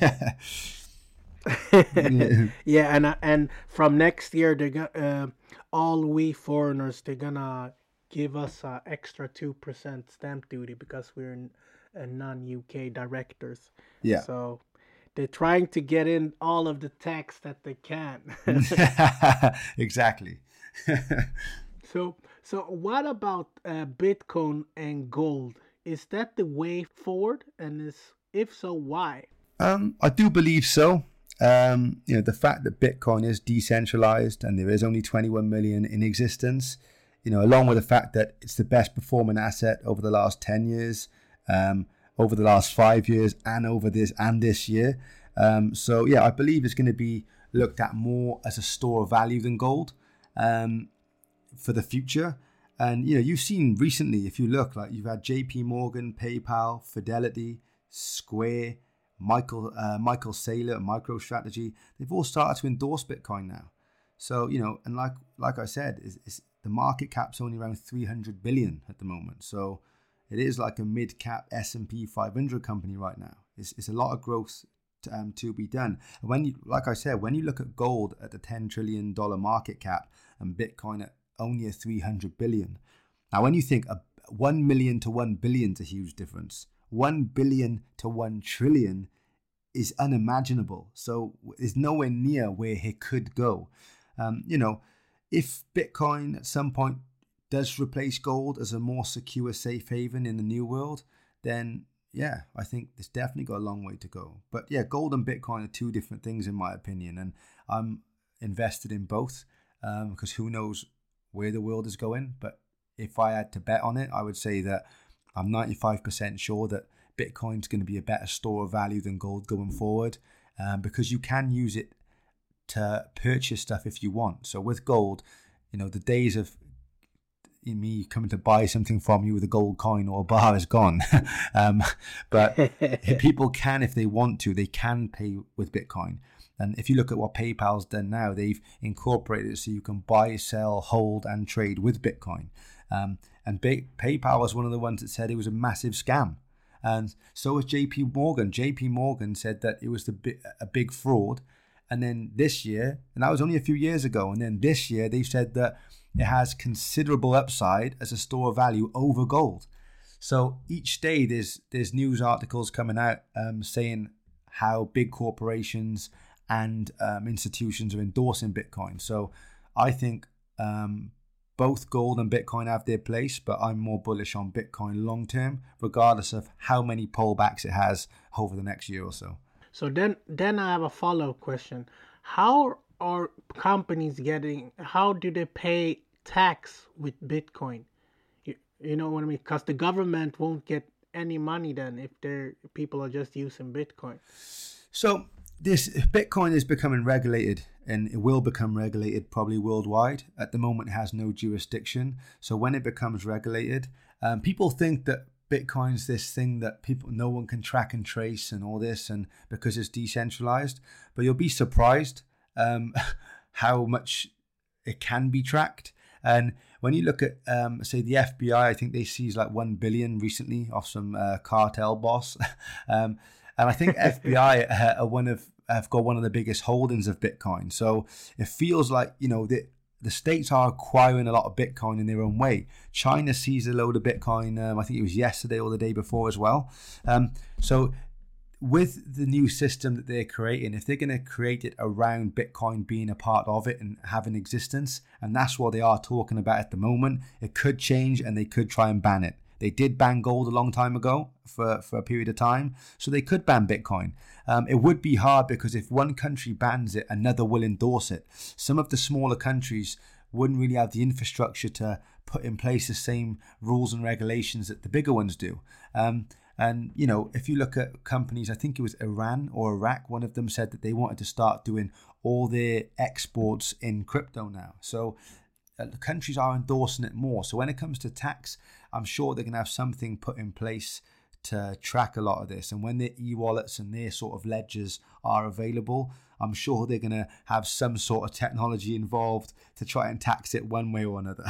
Yeah, and from next year, they're gonna all we foreigners, they're gonna give us extra 2% stamp duty because we're non-UK directors. Yeah. So they're trying to get in all of the tax that they can. Exactly. So what about Bitcoin and gold? Is that the way forward? And if so, why? I do believe so. The fact that Bitcoin is decentralized and there is only 21 million in existence, along with the fact that it's the best performing asset over the last 10 years, over the last 5 years, and over this year. So yeah, I believe it's going to be looked at more as a store of value than gold for the future. And you've seen recently, if you look, like you've had JP Morgan, PayPal, Fidelity, Square, Michael Saylor, MicroStrategy, they've all started to endorse Bitcoin now. So, and like I said, the market cap's only around 300 billion at the moment. So it is like a mid-cap S&P 500 company right now. It's a lot of growth to be done. And like I said, when you look at gold at the $10 trillion market cap and Bitcoin at only a 300 billion. Now, when you think 1 million to 1 billion is a huge difference. 1 billion to 1 trillion is unimaginable. So it's nowhere near where it could go. If Bitcoin at some point does replace gold as a more secure safe haven in the new world, then yeah, I think it's definitely got a long way to go. But yeah, gold and Bitcoin are two different things in my opinion. And I'm invested in both because who knows where the world is going. But if I had to bet on it, I would say that I'm 95% sure that Bitcoin's going to be a better store of value than gold going forward, because you can use it to purchase stuff if you want. So with gold, the days of me coming to buy something from you with a gold coin or a bar is gone. But people can, if they want to, they can pay with Bitcoin. And if you look at what PayPal's done now, they've incorporated it so you can buy, sell, hold, and trade with Bitcoin. And PayPal was one of the ones that said it was a massive scam. And so was JP Morgan. JP Morgan said that it was a big fraud. And then this year, and that was only a few years ago, and then this year they said that it has considerable upside as a store of value over gold. So each day there's news articles coming out saying how big corporations and institutions are endorsing Bitcoin. So I think both gold and Bitcoin have their place, but I'm more bullish on Bitcoin long term, regardless of how many pullbacks it has over the next year or so. So then I have a follow-up question. How are companies how do they pay tax with Bitcoin? You know what I mean? Because the government won't get any money then if people are just using Bitcoin. So this Bitcoin is becoming regulated, and it will become regulated probably worldwide. At the moment, it has no jurisdiction. So when it becomes regulated, people think that Bitcoin's this thing that no one can track and trace and all this, and because it's decentralized. But you'll be surprised how much it can be tracked. And when you look at, say, the FBI, I think they seized like 1 billion recently off some cartel boss. And I think FBI have got one of the biggest holdings of Bitcoin. So it feels like, the states are acquiring a lot of Bitcoin in their own way. China seized a load of Bitcoin, I think it was yesterday or the day before as well. So with the new system that they're creating, if they're going to create it around Bitcoin being a part of it and having existence, and that's what they are talking about at the moment, it could change and they could try and ban it. They did ban gold a long time ago for a period of time, so they could ban Bitcoin. It would be hard because if one country bans it, another will endorse it. Some of the smaller countries wouldn't really have the infrastructure to put in place the same rules and regulations that the bigger ones do. And, if you look at companies, I think it was Iran or Iraq, one of them said that they wanted to start doing all their exports in crypto now. So the countries are endorsing it more. So when it comes to tax, I'm sure they're going to have something put in place to track a lot of this. And when their e-wallets and their sort of ledgers are available, I'm sure they're going to have some sort of technology involved to try and tax it one way or another.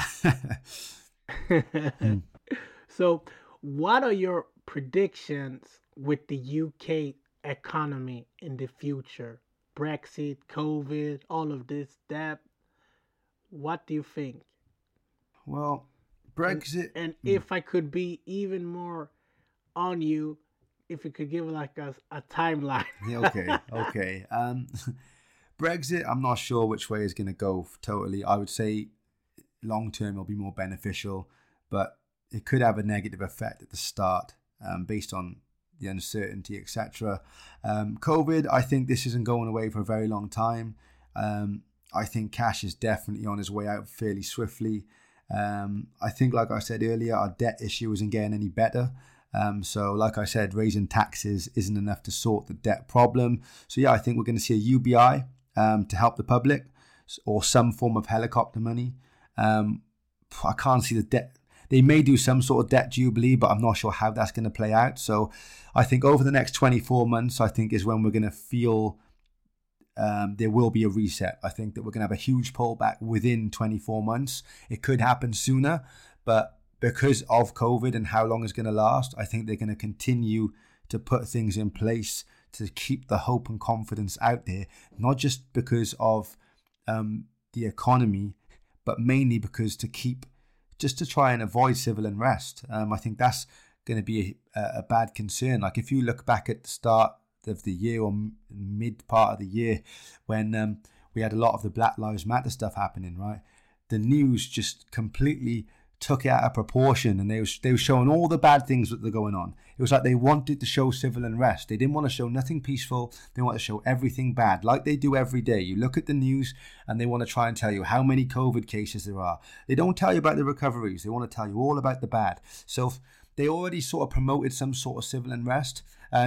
So what are your predictions with the UK economy in the future? Brexit, COVID, all of this, that. What do you think? Well, Brexit. And if I could be even more on you, if you could give like a timeline. Okay. Brexit, I'm not sure which way is going to go totally. I would say long term it'll be more beneficial, but it could have a negative effect at the start based on the uncertainty, etc. COVID, I think this isn't going away for a very long time. I think cash is definitely on his way out fairly swiftly. I think, like I said earlier, our debt issue isn't getting any better. So like I said, raising taxes isn't enough to sort the debt problem. So yeah, I think we're going to see a UBI to help the public, or some form of helicopter money. I can't see the debt. They may do some sort of debt jubilee, but I'm not sure how that's going to play out. So I think over the next 24 months, I think is when we're going to feel there will be a reset. I think that we're going to have a huge pullback within 24 months. It could happen sooner, but because of COVID and how long it's going to last, I think they're going to continue to put things in place to keep the hope and confidence out there, not just because of the economy, but mainly because to try and avoid civil unrest. I think that's going to be a bad concern. Like if you look back at the start of the year or mid part of the year when we had a lot of the Black Lives Matter stuff happening, right? The news just completely took it out of proportion, and they were showing all the bad things that are going on. It was like they wanted to show civil unrest. They didn't want to show nothing peaceful. They want to show everything bad, like they do every day. You look at the news and they want to try and tell you how many COVID cases there are. They don't tell you about the recoveries. They want to tell you all about the bad. So they already sort of promoted some sort of civil unrest,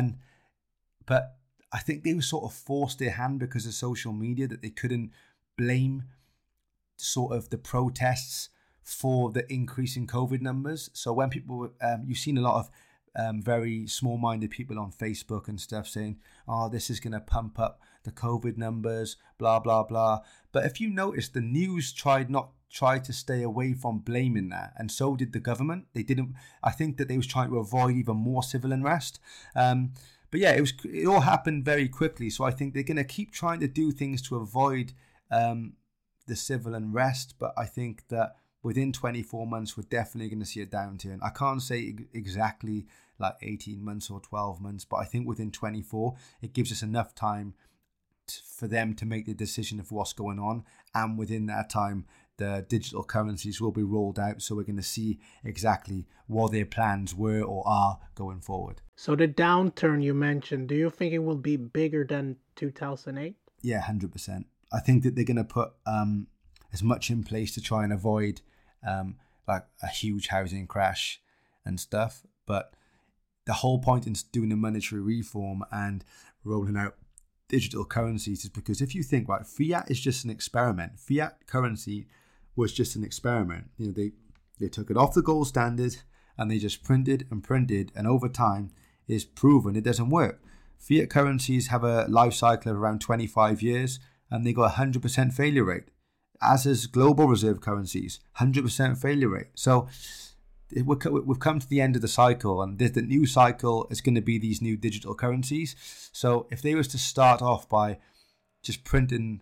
but I think they were sort of forced their hand because of social media, that they couldn't blame sort of the protests for the increase in COVID numbers. So when people, you've seen a lot of very small-minded people on Facebook and stuff saying, oh, this is going to pump up the COVID numbers, blah, blah, blah. But if you notice, the news tried to stay away from blaming that, and so did the government. They didn't. I think that they was trying to avoid even more civil unrest. But yeah, it all happened very quickly. So I think they're going to keep trying to do things to avoid the civil unrest. But I think that within 24 months, we're definitely going to see a downturn. I can't say exactly like 18 months or 12 months, but I think within 24, it gives us enough time for them to make the decision of what's going on. And within that time, the digital currencies will be rolled out. So we're going to see exactly what their plans were or are going forward. So the downturn you mentioned, do you think it will be bigger than 2008? Yeah, 100%. I think that they're going to put as much in place to try and avoid like a huge housing crash and stuff. But the whole point in doing a monetary reform and rolling out digital currencies is because if you think, right, fiat is just an experiment. Fiat currency was just an experiment. You know, they took it off the gold standard and they just printed, and over time is proven it doesn't work. Fiat currencies have a life cycle of around 25 years and they got a 100% failure rate, as is global reserve currencies, 100% failure rate. So we've come to the end of the cycle, and the new cycle is going to be these new digital currencies. So if they was to start off by just printing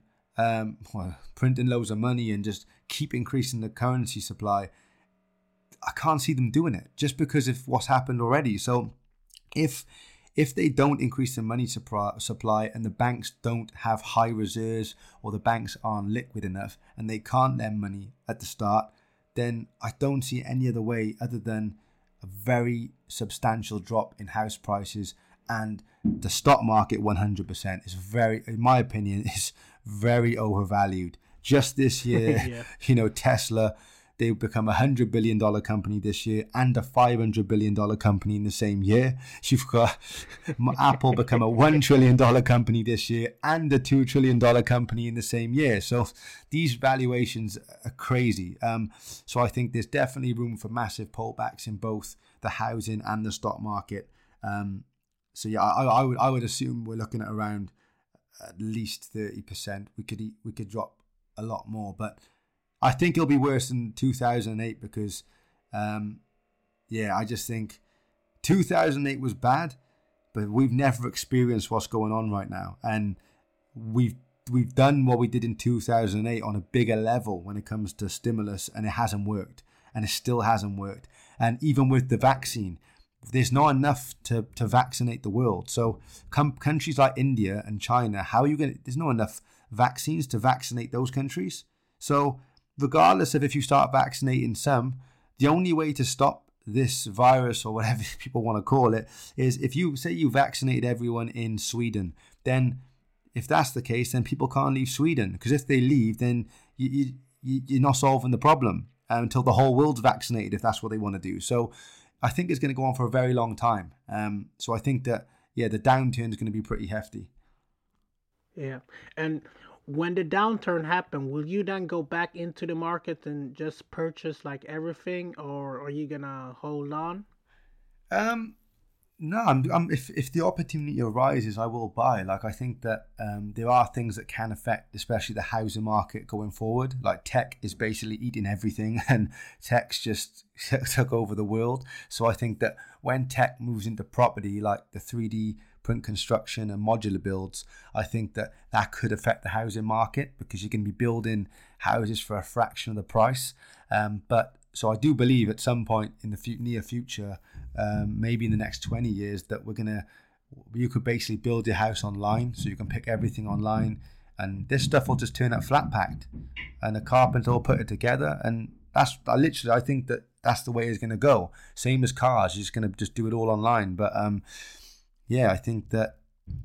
loads of money and just keep increasing the currency supply, I can't see them doing it just because of what's happened already. So if they don't increase the money supply and the banks don't have high reserves, or the banks aren't liquid enough and they can't lend money at the start, then I don't see any other way other than a very substantial drop in house prices. And the stock market 100% is very, in my opinion, is very overvalued. Just this year, Yeah. you know, Tesla, they become $100 billion company this year and a $500 billion company in the same year. You've got Apple become a $1 trillion company this year and a $2 trillion company in the same year. So these valuations are crazy. So I think there's definitely room for massive pullbacks in both the housing and the stock market. So yeah, I would assume we're looking at around at least 30%. We could drop a lot more, but I think it'll be worse than 2008 because, I just think 2008 was bad, but we've never experienced what's going on right now, and we've done what we did in 2008 on a bigger level when it comes to stimulus, and it hasn't worked, and it still hasn't worked. And even with the vaccine, there's not enough to vaccinate the world. So countries like India and China, how are you going to, there's not enough vaccines to vaccinate those countries. So regardless of if you start vaccinating some, the only way to stop this virus, or whatever people want to call it, is if you say you vaccinated everyone in Sweden, then if that's the case, then people can't leave Sweden, because if they leave, then you're not solving the problem until the whole world's vaccinated, if that's what they want to do. So I think it's going to go on for a very long time. So I think that, the downturn is going to be pretty hefty. Yeah. And when the downturn happens, will you then go back into the market and just purchase like everything, or are you going to hold on? No, if the opportunity arises, I will buy. Like, I think that there are things that can affect, especially the housing market going forward. Like, tech is basically eating everything, and tech's just took over the world. So I think that when tech moves into property, like the 3D print construction and modular builds, I think that could affect the housing market, because you can be building houses for a fraction of the price. So I do believe at some point in the near future, maybe in the next 20 years, that you could basically build your house online, so you can pick everything online, and this stuff will just turn out flat packed, and a carpenter will put it together, and I think that that's the way it's going to go. Same as cars, you're just going to just do it all online. But I think that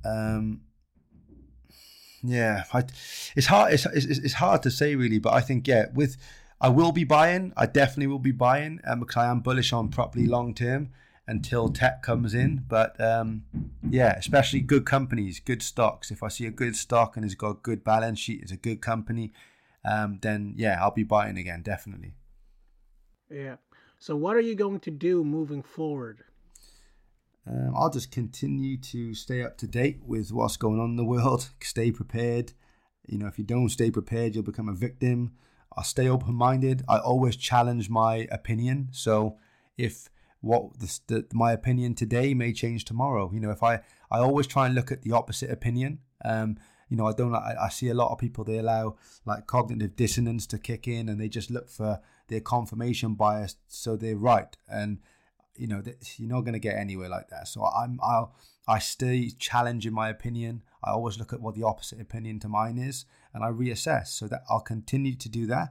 it's hard. It's hard to say really, but I think I will be buying. I definitely will be buying, because I am bullish on property long term until tech comes in. But especially good companies, good stocks. If I see a good stock and it's got a good balance sheet, it's a good company, then I'll be buying again, definitely. Yeah. So what are you going to do moving forward? I'll just continue to stay up to date with what's going on in the world. Stay prepared. If you don't stay prepared, you'll become a victim. I'll stay open-minded. I always challenge my opinion. So if my opinion today may change tomorrow. If I always try and look at the opposite opinion. I see a lot of people, they allow like cognitive dissonance to kick in, and they just look for their confirmation bias, so they're right. And you're not going to get anywhere like that. So I stay challenging my opinion. I always look at what the opposite opinion to mine is, and I reassess. So that I'll continue to do that.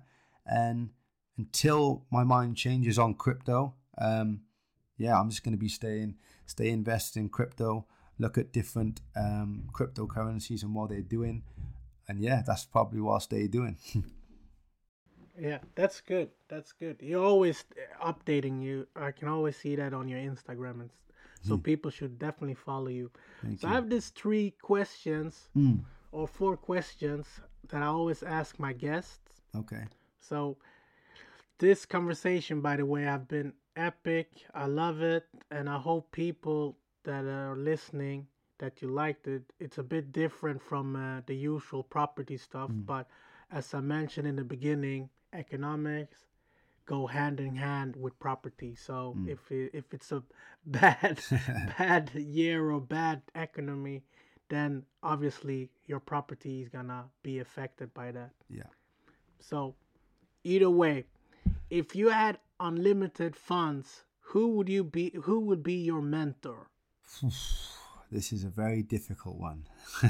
And until my mind changes on crypto, I'm just going to be stay invested in crypto, look at different cryptocurrencies and what they're doing. And yeah, that's probably what I'll stay doing. Yeah, that's good. That's good. You're always updating. I can always see that on your Instagram, and so people should definitely follow you. Thank So you. I have these 3 questions or 4 questions that I always ask my guests. Okay. So this conversation, by the way, have been epic. I love it, and I hope people that are listening that you liked it. It's a bit different from the usual property stuff, but as I mentioned in the beginning, economics go hand in hand with property. So if it's a bad year or bad economy, then obviously your property is gonna be affected by that. Yeah. So either way, if you had unlimited funds, who would be your mentor? This is a very difficult one.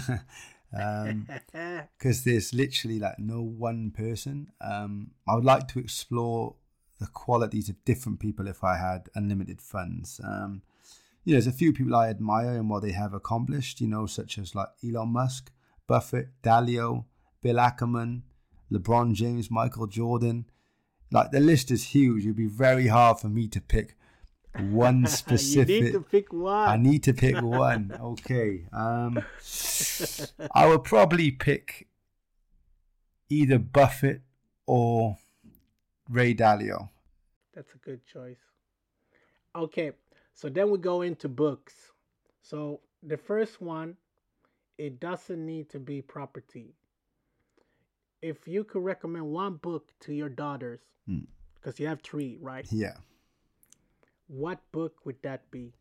Because there's literally like no one person. I would like to explore the qualities of different people if I had unlimited funds. There's a few people I admire and what they have accomplished, such as like Elon Musk, Buffett, Dalio, Bill Ackman, LeBron James, Michael Jordan. Like the list is huge. It'd be very hard for me to pick one specific. You need to pick one. I need to pick one. Okay. I would probably pick either Buffett or Ray Dalio. That's a good choice. Okay, so then we go into books. So the first one, it doesn't need to be property. If you could recommend one book to your daughters, because you have 3, right? Yeah. What book would that be?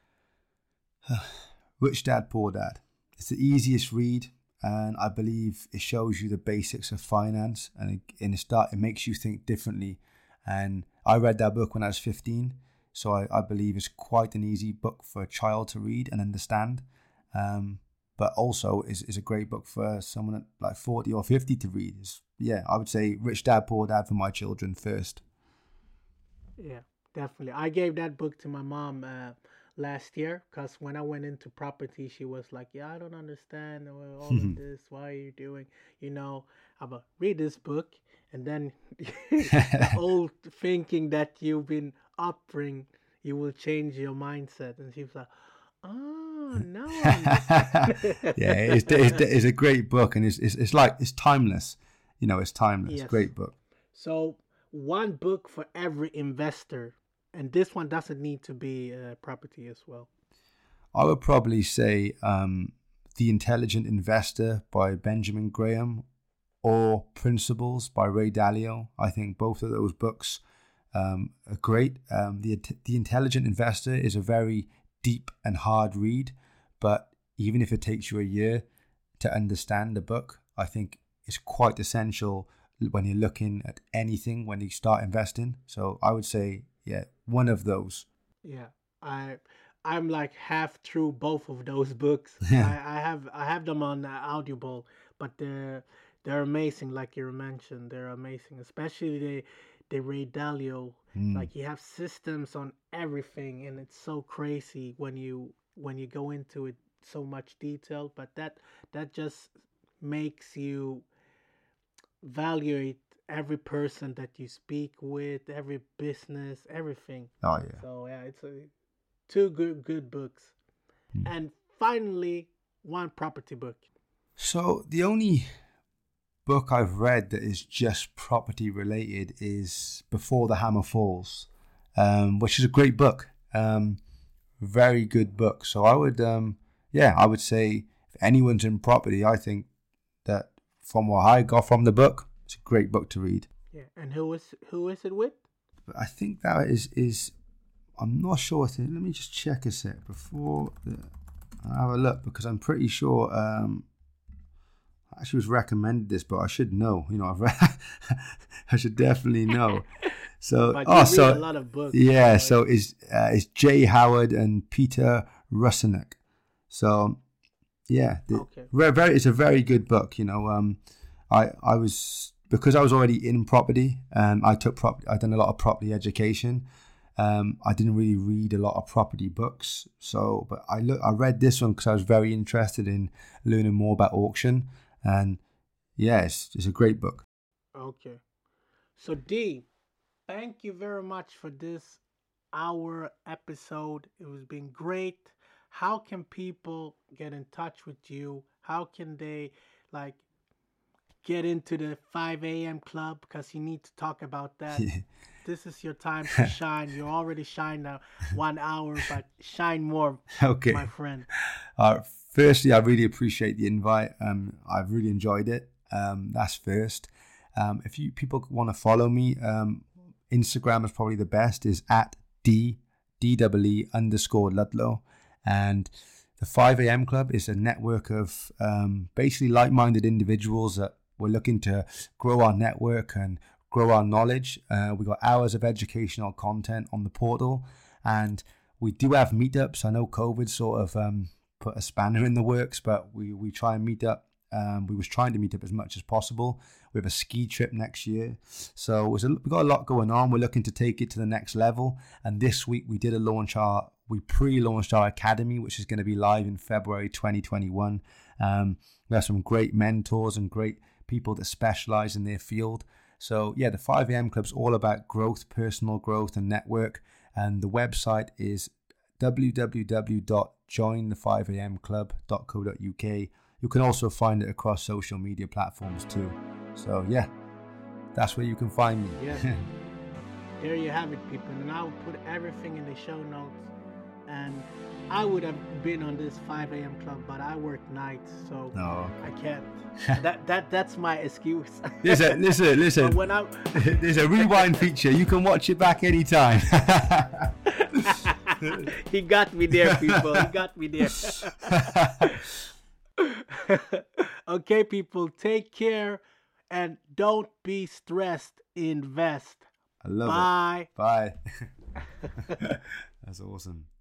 Rich Dad, Poor Dad. It's the easiest read, and I believe it shows you the basics of finance, and it makes you think differently. And I read that book when I was 15, so I believe it's quite an easy book for a child to read and understand. But also is a great book for someone at like 40 or 50 to read. I would say Rich Dad, Poor Dad for my children first. Yeah, definitely. I gave that book to my mom last year because when I went into property, she was like, yeah, I don't understand all of this. Why are you doing? I'm about read this book. And then the old thinking that you've been upbringing, you will change your mindset. And she was like, oh, no. Yeah, it's a great book, and it's timeless. It's timeless. Yes. Great book. So one book for every investor, and this one doesn't need to be property as well. I would probably say The Intelligent Investor by Benjamin Graham or Principles by Ray Dalio. I think both of those books are great. The Intelligent Investor is a very deep and hard read, but even if it takes you a year to understand the book, I think it's quite essential when you're looking at anything when you start investing. So I would say, one of those. Yeah, I'm like half through both of those books. I have them on Audible, but they're amazing. Like you mentioned, they're amazing, especially the Ray Dalio. Like you have systems on everything, and it's so crazy when you go into it so much detail. But that just makes you evaluate every person that you speak with, every business, everything. Oh yeah. So yeah, it's two good books. And finally, one property book. So the only book I've read that is just property related is Before the Hammer Falls, which is a great book. Very good book. So I would say if anyone's in property, I think that from what I got from the book, it's a great book to read. Yeah, and who is it with? But I think that is I'm not sure. Let me just check a sec before I'll have a look, because I'm pretty sure I actually was recommended this, but I should know. I've read, I should definitely know. So, but you read a lot of books. Yeah, so it's Jay Howard and Peter Russinek. So, yeah, okay. It's a very good book. I was because I was already in property and I'd done a lot of property education. I didn't really read a lot of property books. But I read this one because I was very interested in learning more about auction. And yeah, it's a great book. Okay. So D, thank you very much for this hour episode. It was been great. How can people get in touch with you? How can they get into the 5 a.m. club? Because you need to talk about that. This is your time to shine. You already shine now 1 hour, but shine more, okay, my friend. Firstly, I really appreciate the invite. I've really enjoyed it. That's first. If people want to follow me, Instagram is probably the best, is at DEE_Ludlow. And the 5 a.m. Club is a network of basically like-minded individuals that we're looking to grow our network and grow our knowledge. We've got hours of educational content on the portal, and we do have meetups. I know COVID sort of put a spanner in the works, but we try and meet up. We was trying to meet up as much as possible. We have a ski trip next year. So we've got a lot going on. We're looking to take it to the next level. And this week we pre-launched our academy, which is going to be live in February 2021. We have some great mentors and great people that specialize in their field. So yeah, the 5 a.m. Club's all about growth, personal growth and network. And the website is www.jointhefivamclub.co.uk. You can also find it across social media platforms too. So yeah, that's where you can find me. Yes. There you have it, people. And I will put everything in the show notes. And I would have been on this 5 a.m. club, but I work nights, so I can't. That's my excuse. Listen. There's a rewind feature. You can watch it back anytime. He got me there, people. He got me there. Okay, people, take care and don't be stressed. Invest. I love Bye. it. Bye. That's awesome.